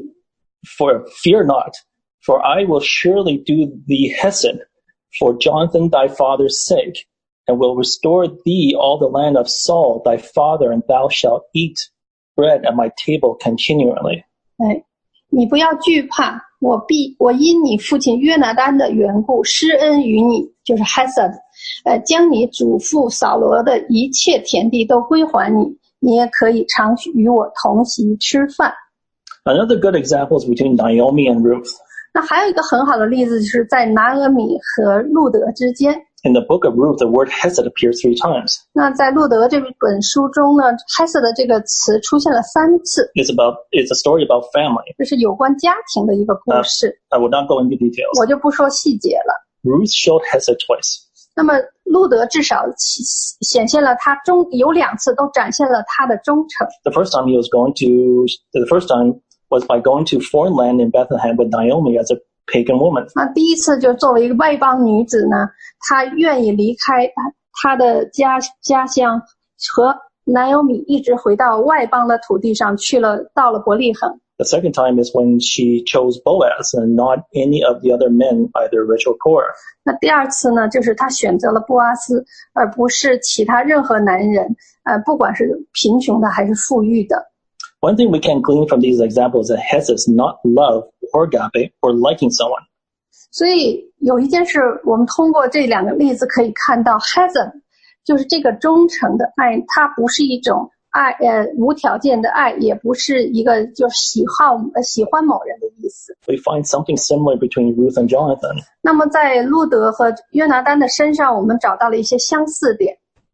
for fear not, for I will surely do thee hesed for Jonathan thy father's sake, and will restore thee all the land of Saul thy father, and thou shalt eat bread at my table continually. 哎，你不要惧怕，我必我因你父亲约拿单的缘故施恩于你，就是 hesed， 呃，将你祖父扫罗的一切田地都归还你，你也可以常与我同席吃饭。 Another good example is between Naomi and Ruth. 那还有一个很好的例子，就是在拿俄米和路德之间。 In the book of Ruth, the word hesed appears three times. 那在路德这本书中呢 ，hesed 的这个词出现了三次。 It's about it's a story about family. 这是有关家庭的一个故事。 Uh, I will not go into details. 我就不说细节了。 Ruth showed hesed twice. 那么路德至少显现了他忠，有两次都展现了他的忠诚。 The first time he was going to, the first time was by going to foreign land in Bethlehem with Naomi as a pagan woman. 那第一次就作为一个外邦女子呢，她愿意离开她的家家乡，和 Naomi 一直回到外邦的土地上去了，到了伯利恒。 The second time is when she chose Boaz and not any of the other men, either rich or poor. 那第二次呢，就是她选择了波阿斯，而不是其他任何男人，呃，不管是贫穷的还是富裕的。 One thing we can glean from these examples is that hesed is not love or agape or liking someone. 所以有一件事，我们通过这两个例子可以看到 hesed 就是这个忠诚的爱，它不是一种爱，呃，无条件的爱，也不是一个就喜好呃喜欢某人的意思。 We find something similar between Ruth and Jonathan. 那么在路德和约拿单的身上，我们找到了一些相似点。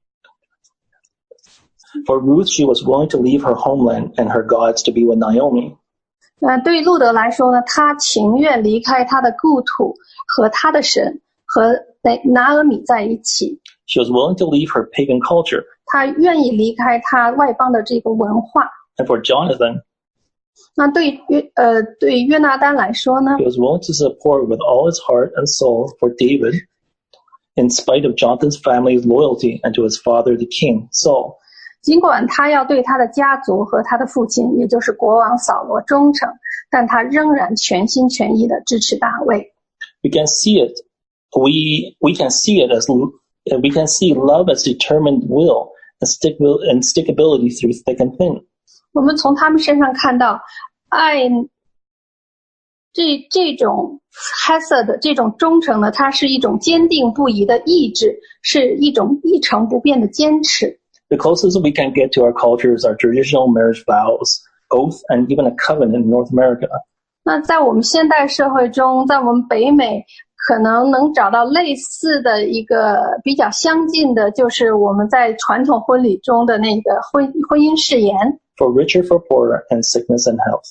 For Ruth, she was willing to leave her homeland and her gods to be with Naomi. 呃，对于路德来说呢，他情愿离开他的故土和他的神，和拿俄米在一起。 She was willing to leave her pagan culture. 他愿意离开他外邦的这个文化。 And for Jonathan, 那对约呃对约拿单来说呢 he was willing to support with all his heart and soul for David, in spite of Jonathan's family's loyalty and to his father, the king, Saul. 尽管他要对他的家族和他的父亲，也就是国王扫罗忠诚，但他仍然全心全意地支持大卫。 We can see it. We we can see it as we can see love as determined will and stick and stickability through thick and thin. 我们从他们身上看到，爱这这种 hesed 这种忠诚呢，它是一种坚定不移的意志，是一种一成不变的坚持。 The closest we can get to our culture is our traditional marriage vows, oath, and even a covenant in North America. 那在我们现代社会中，在我们北美，可能能找到类似的一个比较相近的，就是我们在传统婚礼中的那个婚婚姻誓言。 For richer, for poorer, and sickness and health.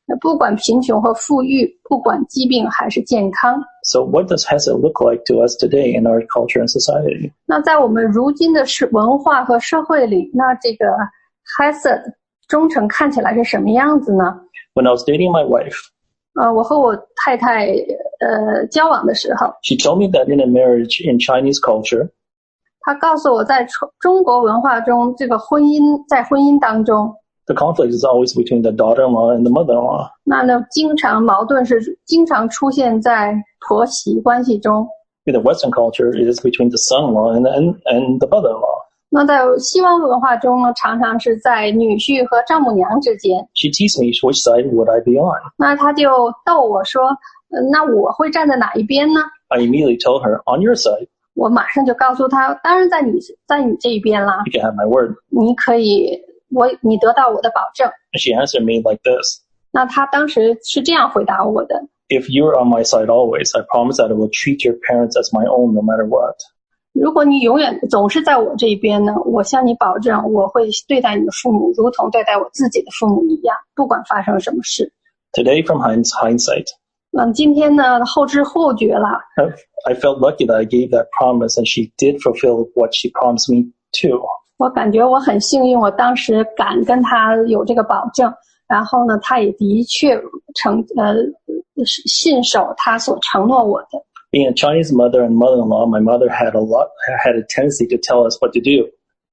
不管贫穷和富裕，不管疾病还是健康。 So what does Hesed look like to us today in our culture and society? 那在我们如今的是文化和社会里，那这个 Hesed 忠诚看起来是什么样子呢？ When I was dating my wife, 呃，我和我太太呃交往的时候， she told me that in a marriage in Chinese culture, 她告诉我在中中国文化中，这个婚姻在婚姻当中， the conflict is always between the daughter-in-law and the mother-in-law. 那呢经常矛盾是经常出现在婆媳关系中。 In the Western culture, it is between the son-in-law and, and, and the mother-in-law. 那在西方文化中呢，常常是在女婿和丈母娘之间。 She teased me, which side would I be on? 那他就逗我说，呃那我会站在哪一边呢？ I immediately told her, on your side, 我马上就告诉他，当然在你在你这一边啦， you can have my word. 你可以，我你得到我的保证。 And she answered me like this. 那他当时是这样回答我的。 If you're on my side always, I promise that I will treat your parents as my own no matter what. 如果你永远总是在我这一边呢，我向你保证，我会对待你的父母如同对待我自己的父母一样，不管发生什么事。 Today, from hind- hindsight, 那今天呢，后知后觉了， I felt lucky that I gave that promise and she did fulfill what she promised me to. 我感觉我很幸运，我当时敢跟他有这个保证，然后呢，他也的确承呃信守他所承诺我的。 Being a Chinese mother and mother-in-law, my mother had a lot, had a tendency to tell us what to do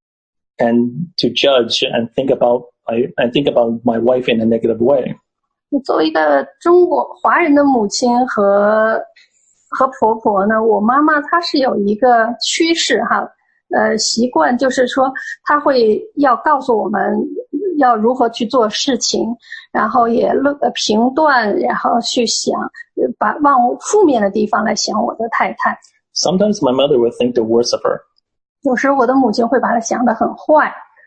and to judge and think about, I, and think about my wife in a negative way. 作为一个中国华人的母亲和和婆婆呢，我妈妈她是有一个趋势哈，呃，习惯就是说，她会要告诉我们要如何去做事情，然后也呃评断，然后去想，把往负面的地方来想我的太太。 Sometimes my mother would think the worst of her. 有时我的母亲会把她想得很坏。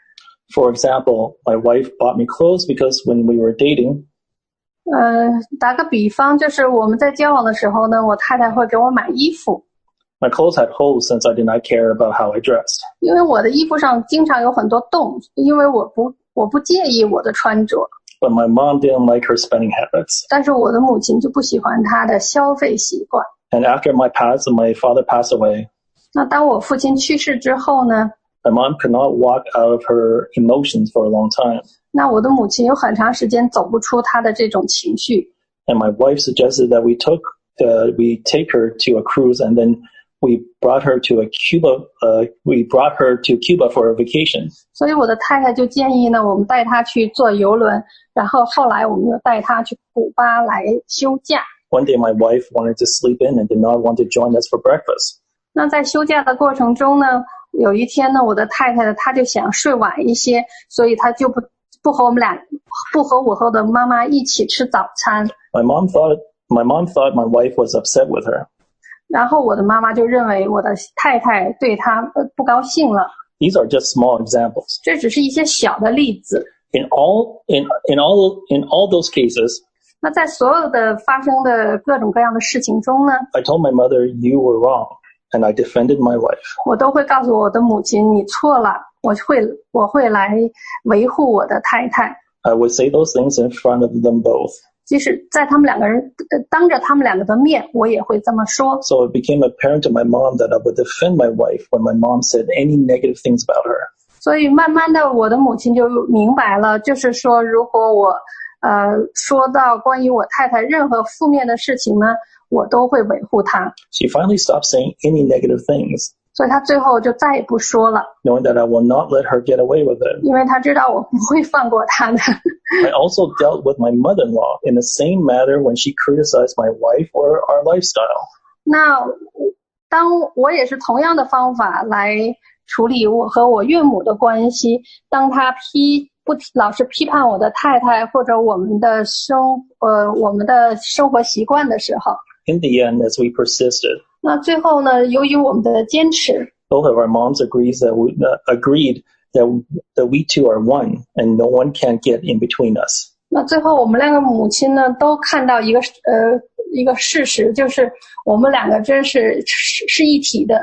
For example, my wife bought me clothes because when we were dating, 呃，打个比方，就是我们在交往的时候呢，我太太会给我买衣服， my clothes had holes since I did not care about how I dressed. 因为我的衣服上经常有很多洞，因为我不我不介意我的穿着， But my mom didn't like her spending habits. 但是我的母亲就不喜欢她的消费习惯。 And after my past, my father passed away, 那当我父亲去世之后呢， my mom could not walk out of her emotions for a long time. 那我的母亲有很长时间走不出她的这种情绪。 And my wife suggested that we took, uh, we take her to a cruise and then we brought her to a Cuba, uh, we brought her to Cuba for a vacation. 所以我的太太就建议呢，我们带她去坐游轮，然后后来我们又带她去古巴来休假。 One day my wife wanted to sleep in and did not want to join us for breakfast. 那在休假的过程中呢，有一天呢，我的太太呢，她就想睡晚一些，所以她就不不和我们俩，不和我和我的妈妈一起吃早餐。 My mom thought, my mom thought my wife was upset with her. 然后我的妈妈就认为我的太太对她呃不高兴了。 These are just small examples. 这只是一些小的例子。 In all, in, in all, in all those cases, 那在所有的发生的各种各样的事情中呢， I told my mother, you were wrong, and I defended my wife. 我都会告诉我的母亲，你错了，我会我会来维护我的太太。 I would say those things in front of them both. 即使在他们两个人呃当着他们两个的面，我也会这么说。 So it became apparent to my mom that I would defend my wife when my mom said any negative things about her. 所以慢慢的，我的母亲就明白了，就是说，如果我呃说到关于我太太任何负面的事情呢，我都会维护她。 She finally stopped saying any negative things, 所以她最后就再也不说了， knowing that I will not let her get away with it. 因为她知道我不会放过她的。 I also dealt with my mother-in-law in the same manner when she criticized my wife or our lifestyle. 那当我也是同样的方法来处理我和我岳母的关系，当她批不老是批判我的太太或者我们的生呃我们的生活习惯的时候， In the end, as we persisted, 那最后呢，由于我们的坚持， both of our moms agrees that we, uh, agreed that, that we two are one and no one can get in between us. 那最后我们两个母亲呢都看到一个呃一个事实，就是我们两个真是是是一体的，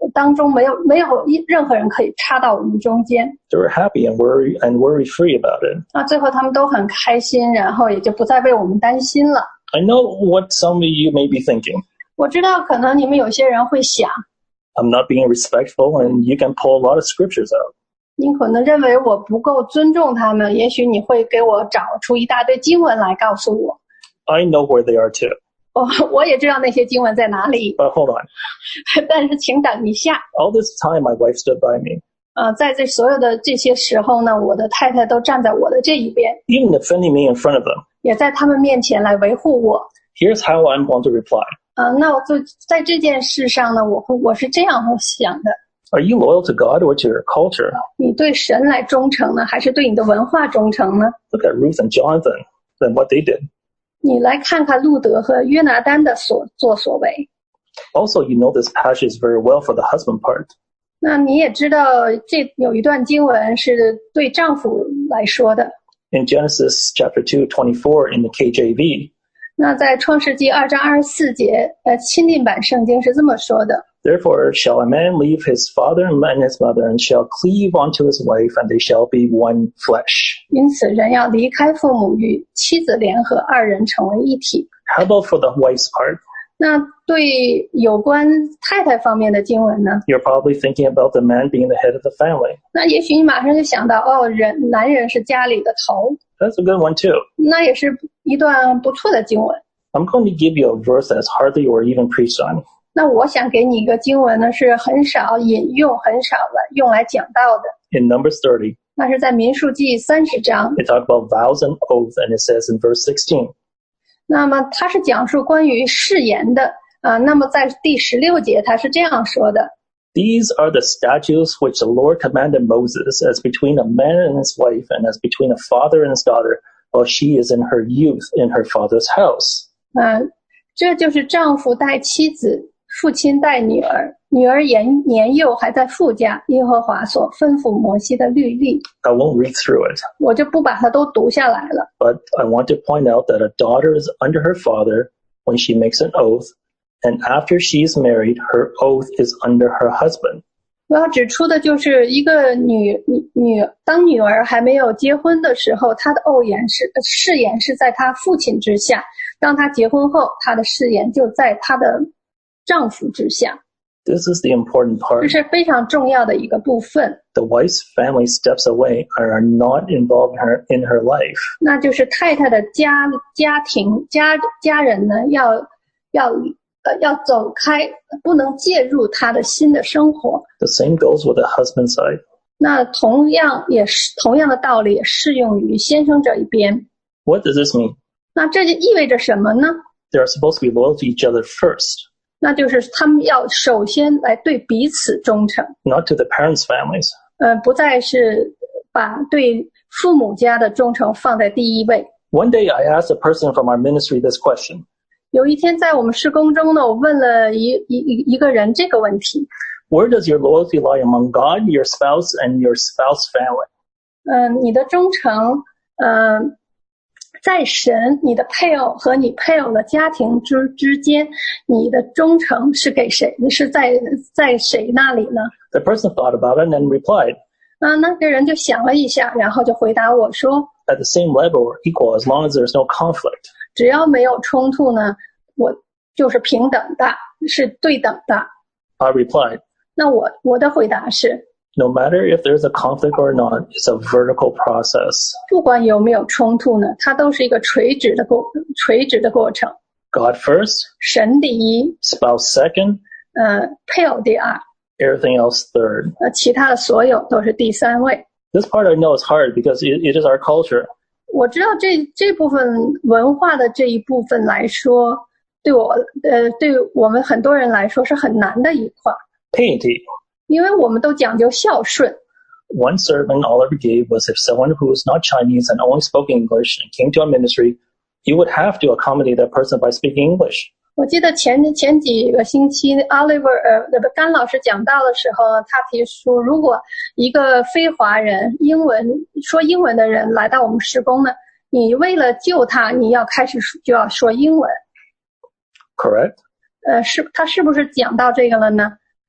当中没有没有任何人可以插到我们中间。 They were happy and worry and worry free about it. 那最后他们都很开心，然后也就不再为我们担心了。 I know what some of you may be thinking. 我知道可能你们有些人会想 I'm not being respectful, and you can pull a lot of scriptures out. 你可能认为我不够尊重他们，也许你会给我找出一大堆经文来告诉我。 I know where they are too. 我我也知道那些经文在哪里。 But hold on. 但是请等一下。 All this time, my wife stood by me. 呃，在这所有的这些时候呢，我的太太都站在我的这一边， Even defending me in front of them. 也在他们面前来维护我。 Here's how I'm going to reply. 呃，那我就在这件事上呢，我会我是这样想的。 Are you loyal to God or to your culture? 你对神来忠诚呢，还是对你的文化忠诚呢？ Look at Ruth and Jonathan and what they did. 你来看看路德和约拿单的所作所为。 Also, you know this passage very well for the husband part. 那你也知道这有一段经文是对丈夫来说的。 In Genesis chapter two, twenty-four in the K J V. 那在创世纪二章二十四节，呃，钦定版圣经是这么说的。 Therefore shall a man leave his father and his mother, and shall cleave unto his wife, and they shall be one flesh. 因此人要离开父母，与妻子联合，二人成为一体。 How about for the wife's part? 那对有关太太方面的经文呢？ You're probably thinking about the man being the head of the family. 那也许你马上就想到，哦，人男人是家里的头。 That's a good one too. 那也是一段不错的经文。 I'm going to give you a verse that's hardly or even preached on. 那我想给你一个经文呢，是很少引用、很少来用来讲到的。 In Numbers thirty, 那是在民数记三十章。 they talk about vows and oaths, and it says in verse sixteen. 那么它是讲述关于誓言的啊。那么在第十六节，它是这样说的。 These are the statutes which the Lord commanded Moses, as between a man and his wife, and as between a father and his daughter, while she is in her youth in her father's house. 嗯，这就是丈夫待妻子，父亲待女儿，女儿年年幼还在父家，耶和华所吩咐摩西的律例。 I won't read through it, 我就不把它都读下来了。 but I want to point out that a daughter is under her father when she makes an oath, and after she is married, her oath is under her husband. 我要指出的就是一个女女女，当女儿还没有结婚的时候，她的欧言是誓言是在她父亲之下；当她结婚后，她的誓言就在她的丈夫之下。 This is the important 这 part. 是非常重要的一个部分。 The wife's family steps away and are not involved in her, in her life. 那就是太太的家家庭家家人呢，要要呃要走开，不能介入她的新的生活。 The same goes with the husband side. 那同样也是同样的道理也适用于先生这一边。 What does this mean? 那这就意味着什么呢？ They are supposed to be loyal to each other first, 那就是他们要首先来对彼此忠诚， not to the parents' families. 呃，不再是把对父母家的忠诚放在第一位。 One day I asked a person from our ministry this question. 有一天在我们事工中呢，我问了一一一一个人这个问题， Where does your loyalty lie among God, your spouse, and your spouse family? 嗯、呃，你的忠诚，嗯、呃。在神，你的配偶和你配偶的家庭之之间，你的忠诚是给谁？是在在谁那里呢？ The person thought about it and then replied, 啊，那个人就想了一下，然后就回答我说 at the same level or equal as long as there's no conflict. 只要没有冲突呢，我就是平等的，是对等的。 I replied, 那我我的回答是， no matter if there's a conflict or not, it's a vertical process. 不管有没有冲突呢，它都是一个垂直的过垂直的过程。 God first, 神第一， spouse second, 呃，配偶第二， everything else third. 呃，其他的所有都是第三位。 This part I know is hard because it, it is our culture. 我知道这这部分文化的这一部分来说，对我呃对我们很多人来说是很难的一块， Piety. 因为我们都讲究孝顺。 One sermon all ever gave was if someone who was not Chinese and only spoke English and came to our ministry, you would have to accommodate that person by speaking English. 我记得前前几个星期 Oliver 呃那个甘老师讲到的时候，他提出如果一个非华人英文说英文的人来到我们事工呢，你为了救他，你要开始就要说英文。 Correct? 呃，是他是不是讲到这个了呢？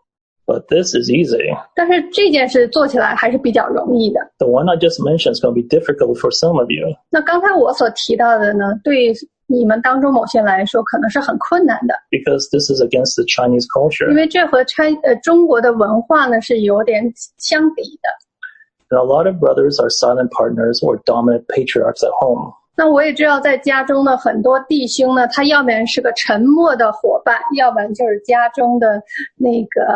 But this is easy. 但是这件事做起来还是比较容易的。 The one I just mentioned is going to be difficult for some of you. 那刚才我所提到的呢，对你们当中某些人来说可能是很困难的， Because this is against the Chinese 因 culture. 为这和川呃中国的文化呢是有点相抵的。 And a lot of brothers are silent partners or dominant patriarchs at home. 那我也知道，在家中的很多弟兄呢，他要不然是个沉默的伙伴，要不然就是家中的那个，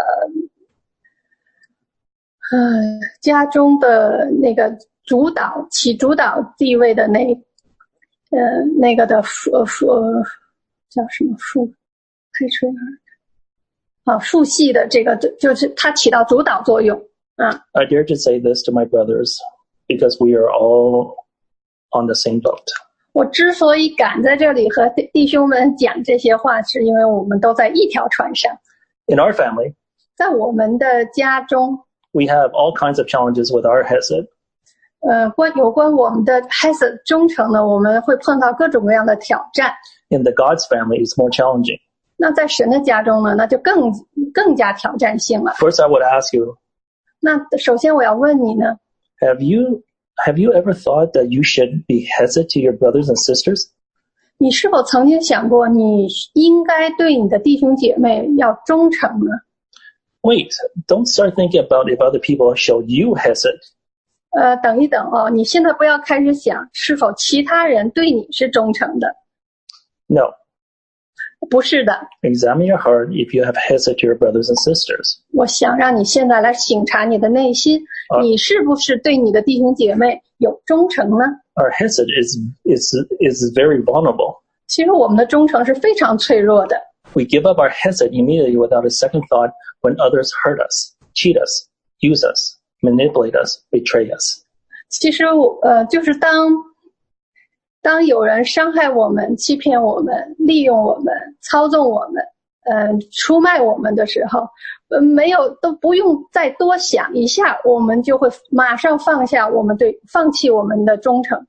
呃，家中的那个主导起主导地位的那，呃，那个的父父叫什么父，开吹啊，父系的这个就是他起到主导作用啊。 I dare to say this to my brothers because we are all on the same boat. 我之所以敢在这里和弟兄们讲这些话，是因为我们都在一条船上。 In our family, 在我们的家中， we have all kinds of challenges with our hesed. 呃，关有关我们的 hesed 忠诚呢，我们会碰到各种各样的挑战。 In the God's family, it's more challenging. 那在神的家中呢，那就更更加挑战性了。 First, I would ask you, 那首先我要问你呢， have you have you ever thought that you should be hesed to your brothers and sisters? 你是否曾经想过，你应该对你的弟兄姐妹要忠诚呢？ Wait, don't start thinking about if other people show you hesed. 呃，等一等哦，你现在不要开始想是否其他人对你是忠诚的， No. 不是的。 Examine your heart if you have hesed to your brothers and sisters. 我想让你现在来省察你的内心， 啊你是不是对你的弟兄姐妹有忠诚呢？ Our hesed is is is very vulnerable. 其实我们的忠诚是非常脆弱的。 We give up our hesed immediately without a second thought when others hurt us, cheat us, use us, manipulate us, betray us. 其实我呃，就是当当有人伤害我们、欺骗我们、利用我们、操纵我们、呃，出卖我们的时候，呃，没有都不用再多想一下，我们就会马上放下我们对放弃我们的忠诚。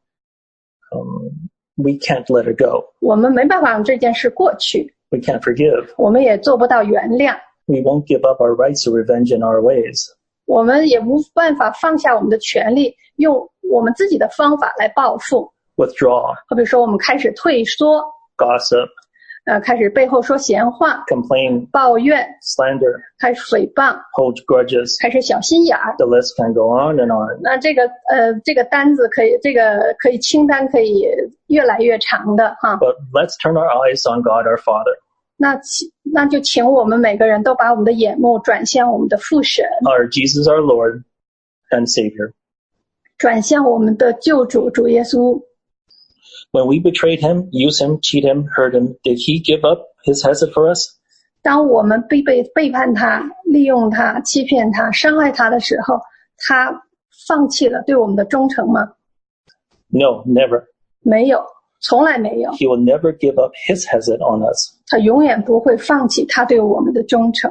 Um, we can't let it go. 我们没办法让这件事过去， We can't forgive. 我们也做不到原谅。 We won't give up our rights to revenge in our ways. 我们也无办法放下我们的权利，用我们自己的方法来报复。 Withdraw, 好比说，我们开始退缩， gossip, 呃，开始背后说闲话、 complain, 抱怨， slander, 开始诽谤， hold grudges. 开始小心眼儿。 The list can go on and on. 那这个呃，这个单子可以，这个可以清单可以越来越长的哈。 But let's turn our eyes on God our Father, 那请那就请我们每个人都把我们的眼目转向我们的父神， our Jesus our Lord and Savior. 转向我们的救主主耶稣。 When we betrayed him, used him, cheat him, hurt him, did he give up his hesed for us? 当我们背背背叛他、利用他、欺骗他、伤害他的时候，他放弃了对我们的忠诚吗？ No, never. 没有，从来没有。 He will never give up his hesed on us. 他永远不会放弃他对我们的忠诚。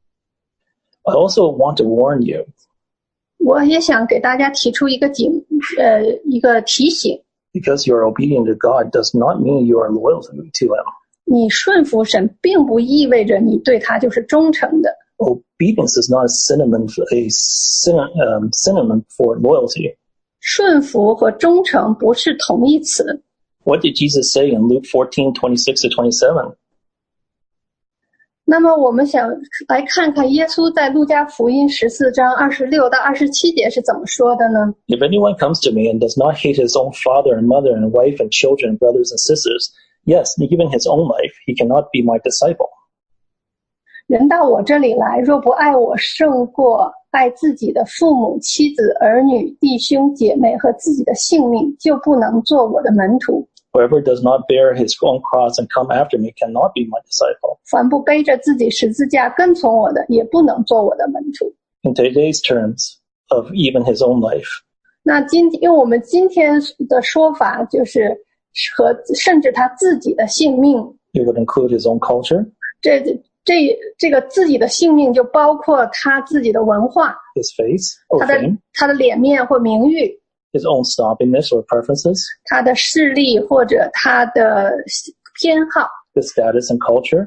I also want to warn you, 我也想给大家提出一个警，呃，一个提醒： because you are obedient to God does not mean you are loyal to him. 你顺服神，并不意味着你对他就是忠诚的。 Obedience is not a synonym, a synonym, um, synonym for loyalty. 顺服和忠诚不是同义词。 What did Jesus say in Luke fourteen, twenty-six to twenty-seven? 那么我们想来看看耶稣在路加福音十四章二十六到二十七节是怎么说的呢？ If anyone comes to me and does not hate his own father and mother and wife and children and brothers and sisters, yes, even his own life, he cannot be my disciple. 人到我这里来，若不爱我胜过爱自己的父母、妻子、儿女、弟兄、姐妹和自己的性命，就不能做我的门徒。 Whoever does not bear his own cross and come after me cannot be my disciple. 凡不背着自己十字架跟从我的，也不能做我的门徒。 In today's terms of even his own life, 那今用我们今天的说法，就是和甚至他自己的性命， it would include his own culture, 这这这个自己的性命就包括他自己的文化， his face or 他的 fame, 他的脸面或名誉， his own snobbiness or preferences, 他的势力或者他的偏好， his status and culture,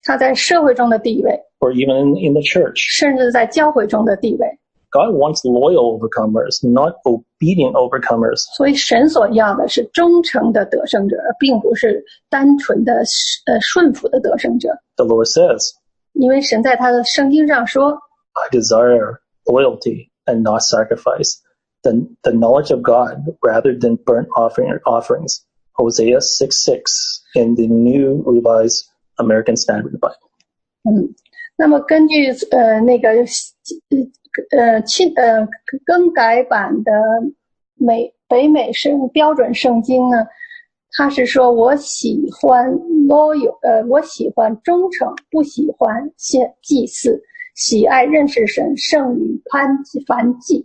他在社会中的地位， or even in, in the church. 甚至在教会中的地位。 God wants loyal overcomers, not obedient overcomers. 所以神所要的是忠诚的得胜者，而并不是单纯的呃顺服的得胜者。 The Lord says, 因为神在他的圣经上说， I desire loyalty and not sacrifice, the, the knowledge of God rather than burnt offering, offerings. Hosea six six in the New Revised American Standard Bible. 嗯，那么根据呃那个呃亲呃更改版的美北美圣标准圣经呢，他是说我喜欢 loyal 呃我喜欢忠诚，不喜欢献祭祀，喜爱认识神胜于攀燔祭。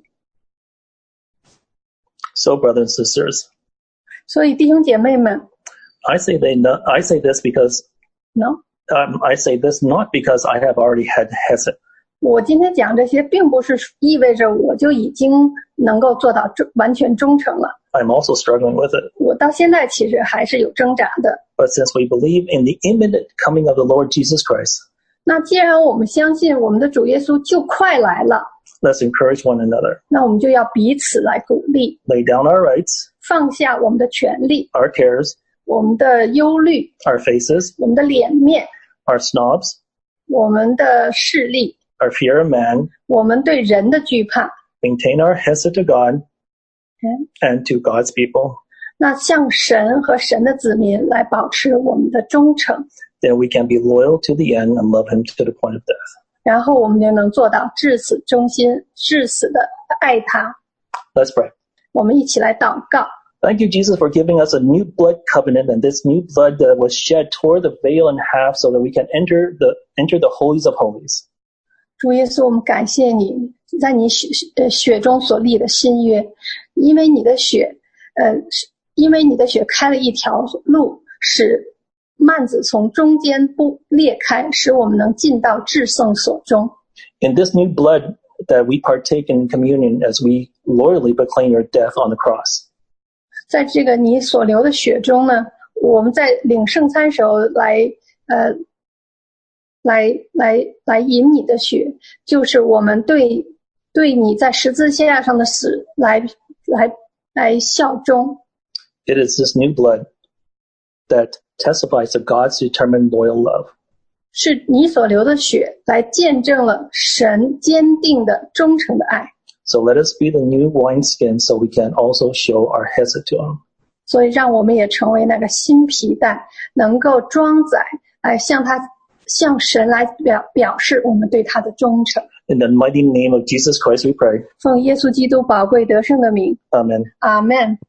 So, brothers and sisters, 所以弟兄姐妹们 I say they not, I say this because ，no， um, I say this not because I have already had hesed. 我今天讲这些，并不是意味着我就已经能够做到忠完全忠诚了。 I'm also struggling with it. 我到现在其实还是有挣扎的。 But since we believe in the imminent coming of the Lord Jesus Christ, 那既然我们相信我们的主耶稣就快来了， let's encourage one another. 那我们就要彼此来鼓励， Lay down our rights, 放下我们的权利、 our cares, 我们的忧虑、 our faces, 我们的脸面、 our snobs, 我们的势力、 our fear of man, 我们对人的惧怕。 maintain our hesed to God 嗯 and to God's people. 那向神和神的子民来保持我们的忠诚， Then we can be loyal to the end and love him to the point of death. 然后我们就能做到至死忠心、至死的爱他。 Let's pray. 我们一起来祷告。 Thank you, Jesus, for giving us a new blood covenant, and this new blood that was shed tore the veil in half so that we can enter the enter the holies of holies. 主耶稣，我们感谢你，在你血呃血中所立的新约，因为你的血，呃，因为你的血开了一条路，使幔子从中间不裂开，使我们能进到至圣所中。 In this new blood that we partake in communion as we loyally proclaim your death on the cross. 在这个你所流的血中呢，我们在领圣餐时候来，呃，来来来饮你的血，就是我们对对你在十字架上的死来来来效忠。 It is this new blood that testifies to God's determined loyal love. 是你所流的血来见证了神坚定的忠诚的爱。 So let us be the new wineskin so we can also show our hesed to him. 所以让我们也成为那个新皮带，能够装载，来向他向神来表表示我们对他的忠诚。 In the mighty name of Jesus Christ we pray. 奉耶稣基督宝贵得胜的名， Amen. 阿们。